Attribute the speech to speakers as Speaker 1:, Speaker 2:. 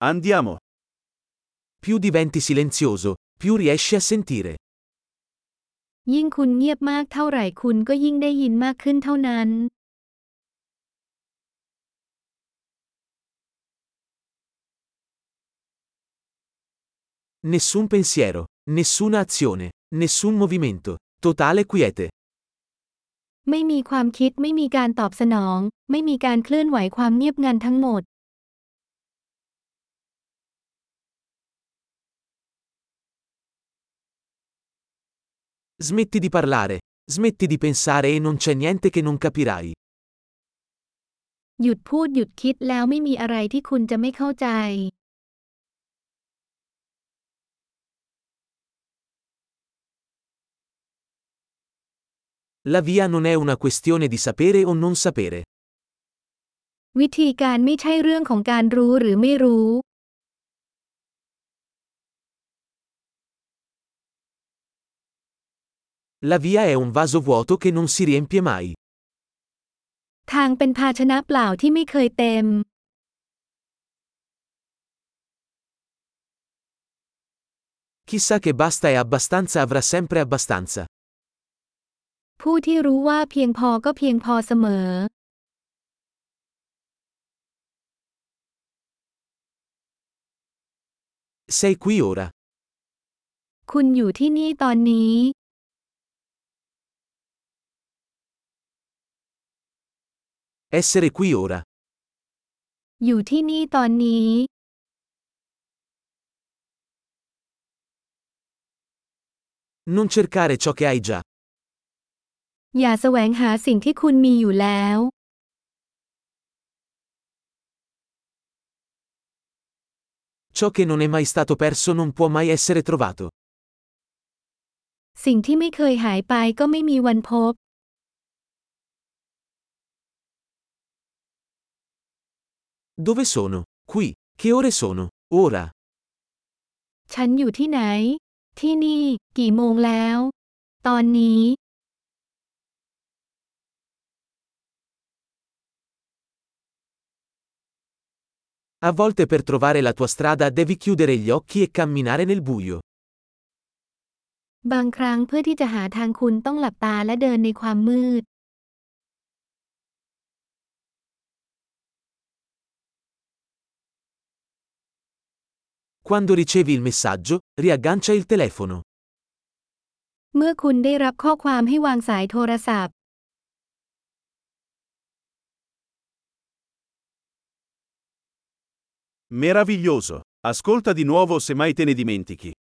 Speaker 1: Andiamo.
Speaker 2: Più diventi silenzioso, più riesci a sentire.
Speaker 3: ยิ่งคุณเงียบมากเท่าไหร่คุณก็ยิ่งได้ยินมากขึ้นเท่านั้น
Speaker 2: Nessun pensiero, nessuna azione, nessun movimento. Totale quiete.
Speaker 3: ไม่มีความคิดไม่มีการตอบสนอง ไม่มีการเคลื่อนไหวความเงียบงันทั้งหมด
Speaker 2: Smetti di parlare, smetti di pensare e non c'è niente che non capirai.
Speaker 3: หยุดพูดหยุดคิดแล้วไม่มีอะไรที่คุณจะไม่เข้าใจ
Speaker 2: La via non è una questione di sapere o non sapere.
Speaker 3: วิธีการไม่ใช่เรื่องของการรู้หรือไม่รู้
Speaker 2: La via è un vaso vuoto che non si riempie mai.
Speaker 3: ทางเป็นภาชนะเปล่าที่ไม่เคยเต็ม
Speaker 2: Chi sa che basta e abbastanza avrà sempre abbastanza.
Speaker 3: ผู้ที่รู้ว่าเพียงพอก็เพียงพอเสมอ
Speaker 2: Sei qui ora.
Speaker 3: คุณอยู่ที่นี่ตอนนี้
Speaker 2: Essere qui ora.
Speaker 3: อยู่ที่นี่ตอนนี้
Speaker 2: Non cercare ciò che hai già.
Speaker 3: อย่าแสวงหาสิ่งที่คุณมีอยู่แล้ว
Speaker 2: Ciò che non è mai stato perso non può mai essere trovato.
Speaker 3: สิ่งที่ไม่เคยหายไปก็ไม่มีวันพบ
Speaker 2: Dove sono? Qui. Che ore sono? Ora.
Speaker 3: ฉันอยู่ที่ไหน ที่นี่ กี่โมงแล้ว ตอนนี้
Speaker 2: A volte per trovare la tua strada devi chiudere gli occhi e camminare nel buio.
Speaker 3: บางครั้งเพื่อที่จะหาทางคุณต้องหลับตาและเดินในความมืด
Speaker 2: Quando ricevi il messaggio, riaggancia il telefono.
Speaker 3: เมื่อคุณได้รับข้อความให้วางสายโทรศัพท์
Speaker 1: Meraviglioso. Ascolta di nuovo se mai te ne dimentichi.